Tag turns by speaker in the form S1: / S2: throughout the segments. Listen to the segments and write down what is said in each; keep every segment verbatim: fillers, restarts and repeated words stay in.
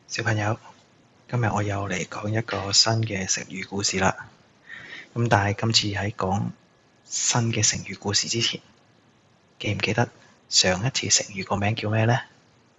S1: 小朋友，今日我又嚟講一個新嘅成語故事啦。咁但係今次喺講新嘅成語故事之前，記唔記得上一次成語個名叫咩呢？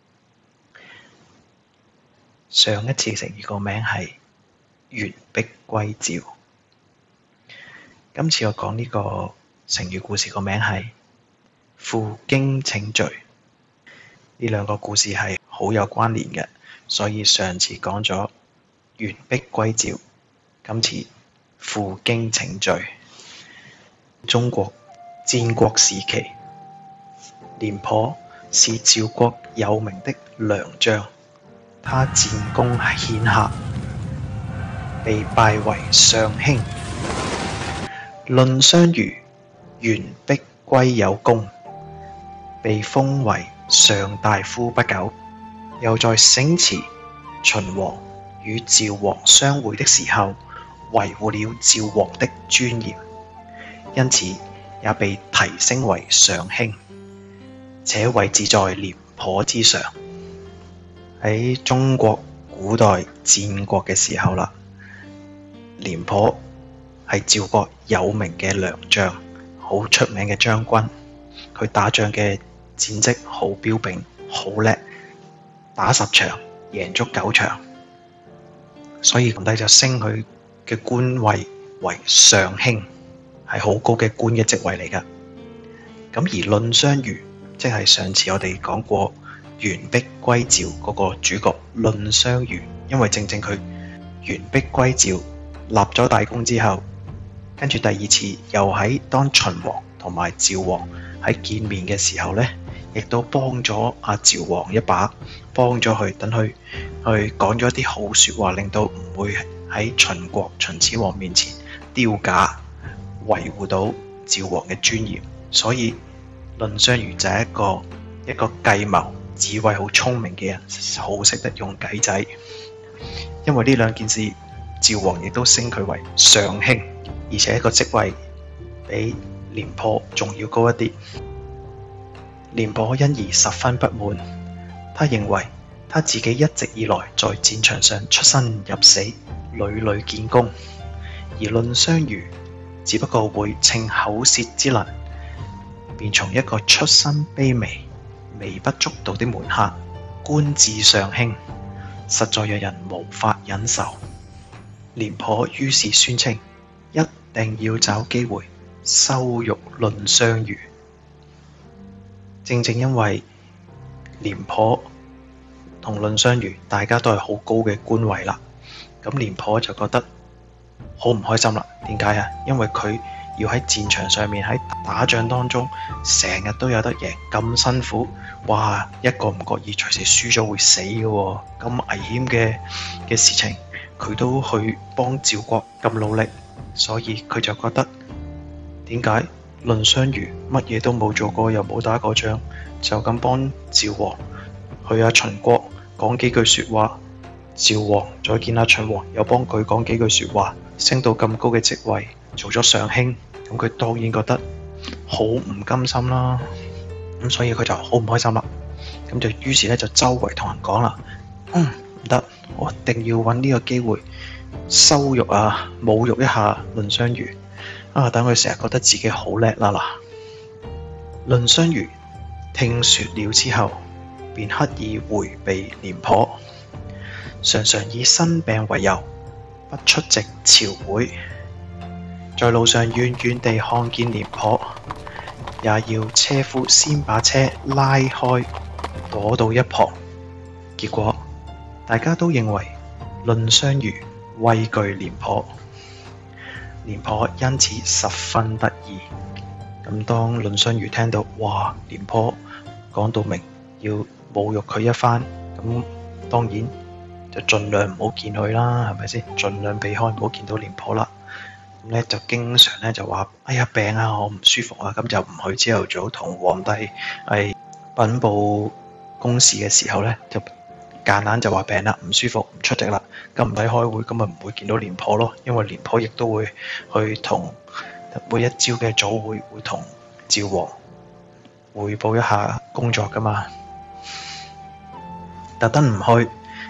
S1: 上一次成語個名係完璧歸趙。今次我講呢個成語故事個名係負荊請罪。呢兩個故事係好有關聯嘅。所以上次講咗完璧歸趙，今次負荊請罪。中國戰國時期，廉頗是趙國有名的良將，他戰功顯赫，被拜為上卿。藺相如完璧歸有功，被封為上大夫不久，又在醒辭秦王與趙王相會的時候，維護了趙王的尊嚴，因此也被提升為上卿，且位置在廉頗之上。喺中國古代戰國嘅時候啦，廉頗係趙國有名嘅良將，好出名嘅將軍。佢打仗嘅戰績好彪炳，好叻，打十場贏足九場，所以皇帝就升佢嘅官位為上卿，係好高嘅官嘅職位嚟㗎。咁而藺相如，即係上次我哋講過完璧歸趙嗰個主角藺相如，因為正正佢完璧歸趙立咗大功之後，跟住第二次又喺當秦王同埋趙王喺見面嘅時候呢，亦都幫咗阿趙王一把，幫咗佢，等佢去講咗一啲好說話，令到唔會喺秦國秦始皇面前丟架，維護到趙王嘅尊嚴。所以藺相如就係一個一個計謀、智慧好聰明嘅人，好識得用計仔。因為呢兩件事，趙王亦都升佢為上卿，而且一個職位比廉頗仲要高一啲。廉頗因而十分不滿，他認為他自己一直以來在戰場上出生入死，屢屢建功，而藺相如只不過會逞口舌之能，便從一個出身卑微、微不足道的門客官至上卿，實在讓人無法忍受。廉頗於是宣稱一定要找機會羞辱藺相如。正正因為廉頗同藺相如大家都係好高嘅官位啦，咁廉頗就覺得好唔開心啦。點解啊？因為佢要喺戰場上面喺打仗當中成日都有得贏，咁辛苦，哇！一個唔覺意隨時輸咗會死嘅喎，咁危險嘅嘅事情佢都去幫趙國咁努力，所以佢就覺得點解藺相如乜嘢都冇做過，又冇打過仗，就咁幫趙王去阿秦國講幾句說話，趙王再見阿秦王又幫佢講幾句說話，升到咁高嘅職位，做咗上卿，咁佢當然覺得好唔甘心啦。咁所以佢就好唔開心啦。咁就於是咧就周圍同人講啦，嗯，唔得，我一定要揾呢個機會羞辱啊、侮辱一下藺相如。啊！等佢成日覺得自己好叻啦嗱。藺相如聽說了之後，便刻意迴避廉頗，常常以生病為由不出席朝會。在路上遠遠地看見廉頗，也要車夫先把車拉開，躲到一旁。結果大家都認為藺相如畏懼廉頗。廉頗因此十分得意。咁當藺相如聽到，哇！廉頗講到明要侮辱佢一番，咁當然就盡量唔好見佢啦，係咪先？盡量避開，唔好見到廉頗啦。咁咧就經常咧就話：哎呀，病啊，我唔舒服啊，咁就唔去朝頭早同皇帝係稟報公事嘅時候咧，就夾硬就話病啦，唔舒服，唔出席啦。咁唔使開會，咁咪唔會見到廉頗咯。因為廉頗亦都會去同每一朝嘅早會，會同趙王彙報一下工作噶嘛。特登唔去，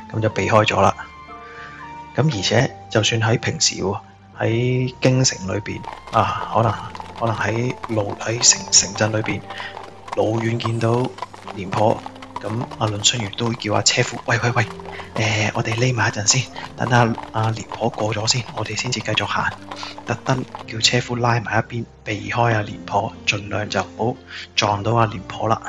S1: 咁就避開咗啦。咁而且就算喺平時喎，喺京城裏邊啊，可能可能喺路喺城城鎮裏邊，老遠見到廉頗，咁阿倫雙魚都會叫阿車夫，喂喂喂，誒、呃，我哋匿埋一陣先，等阿阿廉頗過咗先，我哋先至繼續行。特登叫車夫拉埋一邊，避開阿廉頗，盡量就唔好撞到阿廉頗啦。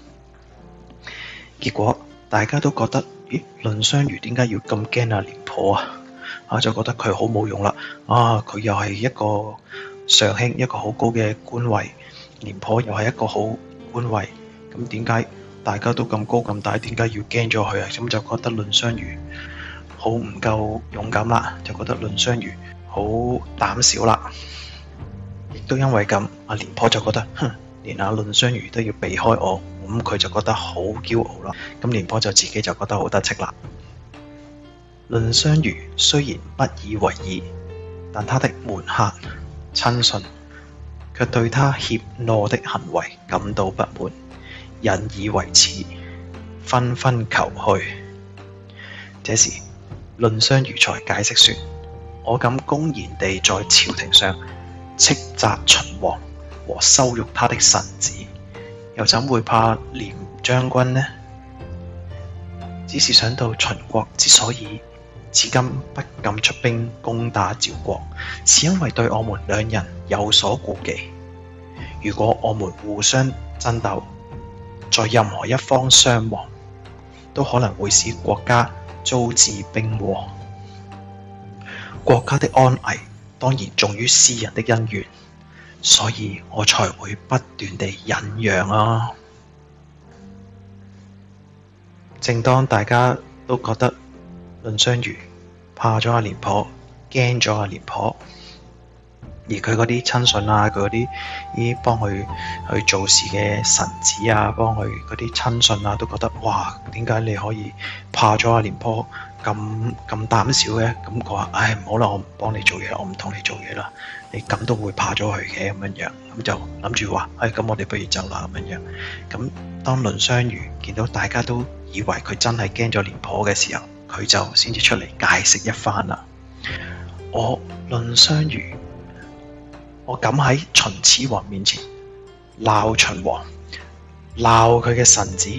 S1: 結果大家都覺得，咦，倫雙魚點解要咁驚阿廉頗啊？啊，就覺得佢好冇用啦。啊，佢又係一個上卿，一個好高嘅官位，廉頗又係一個好官位。咁點解大家都咁高咁大，點解要驚咗佢啊？咁就覺得倫雙魚好唔夠勇敢啦，就覺得倫雙魚好膽小啦。亦都因為咁，阿廉頗就覺得，哼，連阿倫雙魚都要避開我，咁佢就覺得好驕傲啦。咁廉頗就自己就覺得好得戚啦。倫雙魚雖然不以為意，但他的門客親信卻對他怯懦的行為感到不滿，引以為恥，紛紛求去。這時倫雙魚才解釋說：我敢公然地在朝廷上斥責秦王和羞辱他的臣子，又怎會怕廉將軍呢？只是想到秦國之所以至今不敢出兵攻打趙國，是因為對我們兩人有所顧忌。如果我們互相爭鬥，在任何一方傷亡，都可能會使國家遭致兵禍。國家的安危當然重於私人的恩怨，所以我才會不斷地忍讓啊。正當大家都覺得倫雙魚怕咗阿廉頗，驚咗阿廉頗，而佢嗰啲親信啊，佢嗰啲啲幫佢去做事嘅臣子啊，幫佢嗰啲親信啊，都覺得哇，點解你可以怕咗阿廉頗咁咁膽小嘅？咁佢話：唉，唔好啦，我唔幫你做嘢，我唔同你做嘢啦。你咁都會怕咗佢嘅咁樣樣，咁就諗住話：唉，咁我哋不如走啦咁樣樣。咁當倫雙魚見到大家都以為佢真係驚咗廉頗嘅時候，佢就先至出嚟解釋一番啦。我倫雙魚，我敢喺秦始皇面前鬧秦王，鬧佢嘅臣子，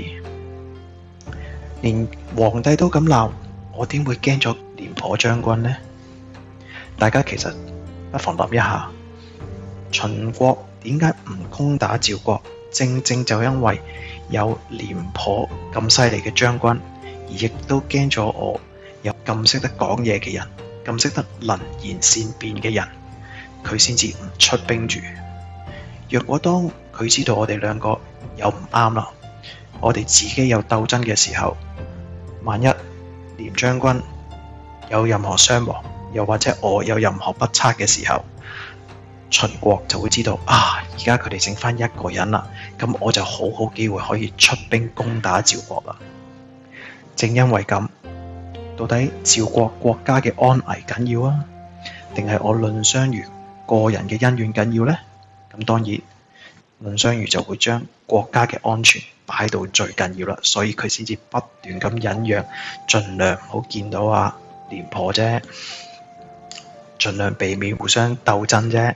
S1: 連皇帝都咁鬧，我點會驚咗廉頗將軍呢？大家其實不妨諗一下，秦國點解唔攻打趙國？正正就因為有廉頗咁犀利嘅將軍，而亦都驚咗我有咁識得講嘢嘅人，咁識得能言善辯嘅人，佢先至唔出兵住。若果當佢知道我哋兩個有唔啱啦，我哋自己有鬥爭嘅時候，萬一廉將軍有任何傷亡，又或者我有任何不測嘅時候，秦國就會知道啊，而家佢哋剩翻一個人啦，咁我就好好機會可以出兵攻打趙國啦。正因為咁，到底趙國國家嘅安危緊要啊，定係我倫雙魚個人嘅恩怨緊要呢？咁當然，倫雙魚就會將國家嘅安全擺到最緊要啦，所以佢先至不斷咁忍讓，盡量唔好見到阿廉頗啫，盡量避免互相鬥爭啫。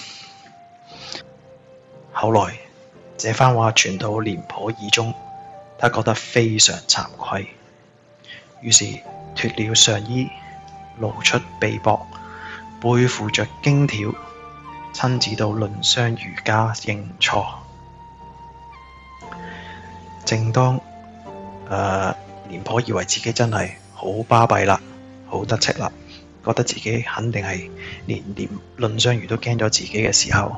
S1: 後來這番話傳到廉頗耳中，他覺得非常慚愧，於是脫了上衣，露出臂膊，背負着荊條，親自到倫雙魚家認錯。正當誒廉頗以為自己真係好巴閉啦，好得戚啦，覺得自己肯定係連連倫雙魚都驚咗自己嘅時候，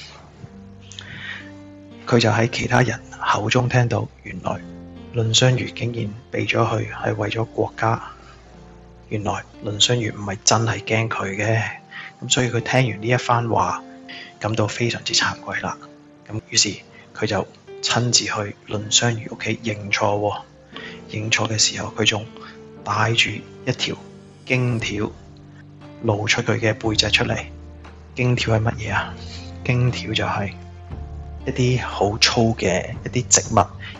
S1: 佢就喺其他人口中聽到，原來倫雙魚竟然避咗去係為咗國家。原來倫雙魚唔係真係驚佢嘅，咁所以佢聽完呢一番話，感到非常之慚愧啦。咁於是佢就親自去倫雙魚屋企認錯喎。認錯嘅時候，佢仲帶住一條荊條，露出佢嘅背脊出嚟。荊條係乜嘢啊？荊條就係一啲好粗嘅一啲植物，而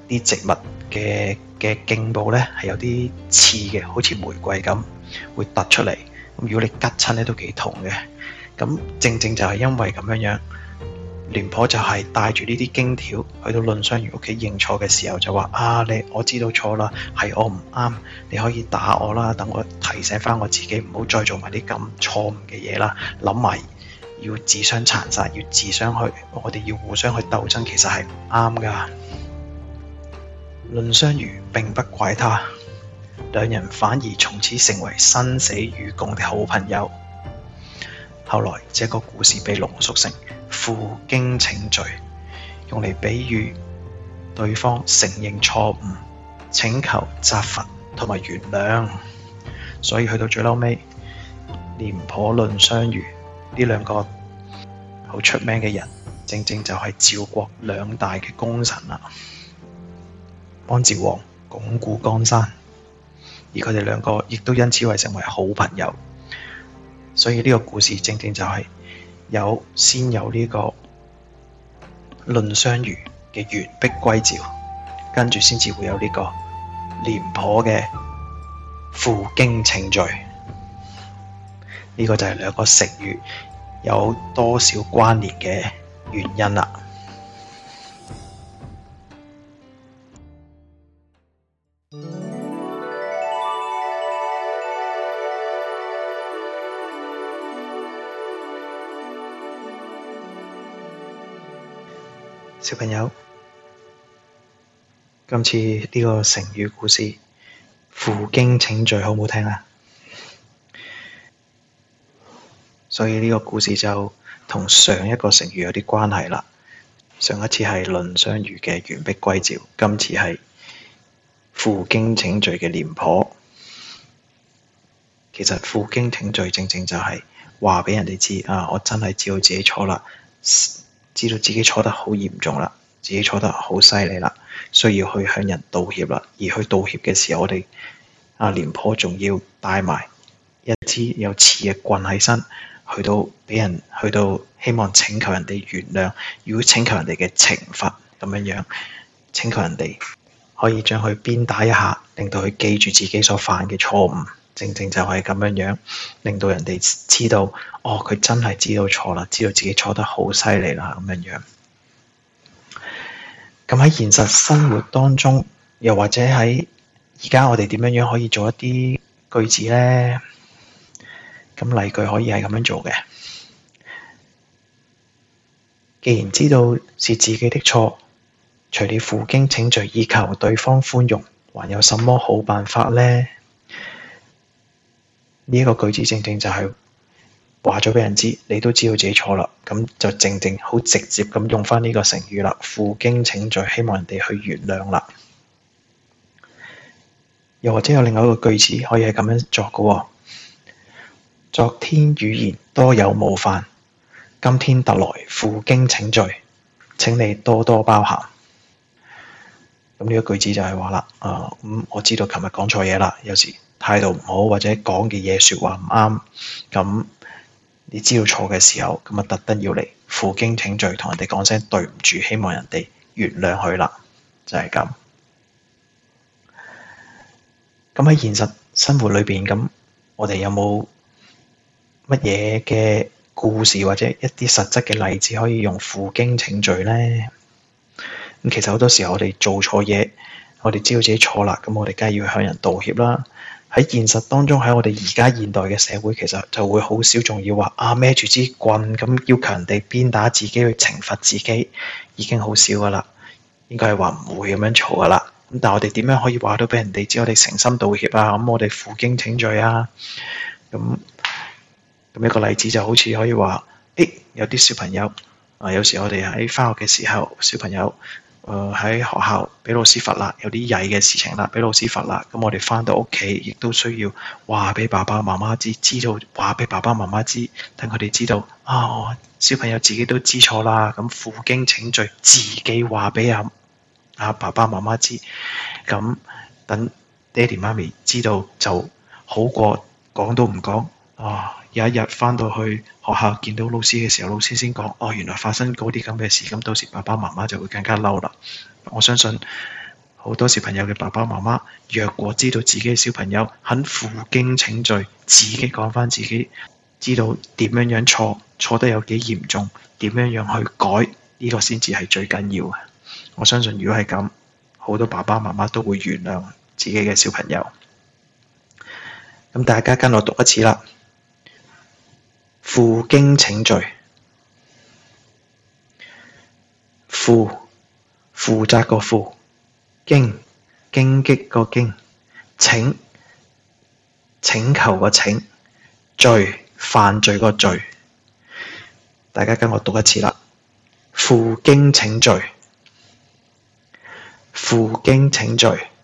S1: 啲植物嘅嘅莖部咧係有啲刺嘅，好似玫瑰咁會突出嚟。咁如果你拮親咧都幾痛嘅。咁正正就係因為咁樣樣，廉頗就係帶住呢啲荊條去到藺相如屋企認錯嘅時候就話：啊，你我知道錯啦，係我唔啱，你可以打我啦，等我提醒翻我自己唔好再做埋啲咁錯誤嘅嘢啦，諗埋要自相殘殺，要自相去，我哋要互相去鬥爭，其實係唔啱噶。藺相如並不怪他，兩人反而從此成為生死與共的好朋友。後來這個故事被濃縮成負荊請罪，用嚟比喻對方承認錯誤、請求責罰同埋原諒。所以去到最後尾，廉頗、藺相如呢兩個好出名嘅人，正正就係趙國兩大嘅功臣啦，幫趙王鞏固江山，而佢哋兩個亦都因此為成為好朋友。所以呢個故事正正就係有先有呢個藺相如嘅完璧歸趙，跟住先至會有呢個廉頗嘅負荊請罪。呢、這個就係兩個成語有多少關聯嘅原因啦。小朋友，今次呢個成語故事負荊請罪好唔好聽啊？所以呢個故事就同上一個成語有啲關係啦。上一次係藺相如嘅完璧歸趙，今次係負荊請罪嘅廉頗。其實負荊請罪正正就係話俾人哋知啊，我真係知道自己錯啦。知道自己錯得好嚴重啦，自己錯得好犀利啦，需要去向人道歉啦。而去道歉嘅時候，我哋阿廉頗仲要帶埋一支有刺嘅棍喺身，去到俾人去到希望請求人哋原諒，如果請求人哋嘅懲罰咁樣樣，請求人哋可以將佢鞭打一下，令到佢記住自己所犯嘅錯誤。正正就係咁樣樣，令到人哋知道，哦，佢真係知道錯啦，知道自己錯得好犀利啦，咁樣樣。咁喺現實生活當中，又或者喺而家我哋點樣樣可以做一啲句子呢？咁例句可以係咁樣做嘅。既然知道是自己的錯，除了負荊請罪以求對方寬容，還有什麼好辦法呢？呢一個句子正正就係話咗俾人知，你都知道自己錯啦，咁就正正好直接咁用翻呢個成語啦，負荊請罪，希望人哋去原諒啦。又或者有另外一個句子可以係咁樣作嘅喎，昨天語言多有冒犯，今天特來負荊請罪，請你多多包涵。咁呢個句子就係話啦，啊、呃、咁、嗯、我知道琴日講錯嘢啦，有時態度唔好或者講嘅嘢説話唔啱，咁你知道錯嘅時候，咁啊特登要嚟負荊請罪，同人哋講聲對唔住，希望人哋原諒佢啦，就係咁。咁喺現實生活裏邊，咁我哋有冇乜嘢嘅故事或者一啲實質嘅例子可以用負荊請罪呢？咁其實好多時候我哋做錯嘢，我哋知道自己錯啦，咁我哋梗係要向人道歉啦。喺現實當中，喺我哋而家現代嘅社會，其實就會好少仲要話啊孭住支棍咁要求人哋鞭打自己去懲罰自己，已經好少噶啦。應該係話唔會咁樣做噶啦。咁但係我哋點樣可以話到俾人哋知我哋誠心道歉啊？咁我哋負荊請罪啊？咁咁一個例子就好似可以話，誒、欸、有啲小朋友啊，有時我哋喺返學嘅時候，小朋友。誒喺、呃、學校俾老師罰啦，有啲曳嘅事情啦，俾老師罰啦。咁我哋返到屋企，亦都需要話俾爸爸媽媽知，知道話俾爸爸媽媽知，等佢哋知道啊，小朋友自己都知錯啦。咁負荊請罪，自己話俾阿阿爸爸媽媽知，咁等爹哋媽咪知道就好過講都唔講啊。有一日返到去學校見到老師嘅時候，老師先講，哦，原來發生嗰啲咁嘅事，咁到時爸爸媽媽就會更加嬲啦。我相信好多小朋友嘅爸爸媽媽，若果知道自己嘅小朋友肯負荊請罪，自己講返自己知道點樣樣錯，錯得有幾嚴重，點樣樣去改，呢個先至係最緊要嘅。我相信如果係咁，好多爸爸媽媽都會原諒自己嘅小朋友。咁大家跟我讀一次啦。負荊請罪。負，負責個負。荊，荊棘個荊。請，請求個請。罪，犯罪個罪。大家跟我讀一次啦。負荊請罪。負荊請罪。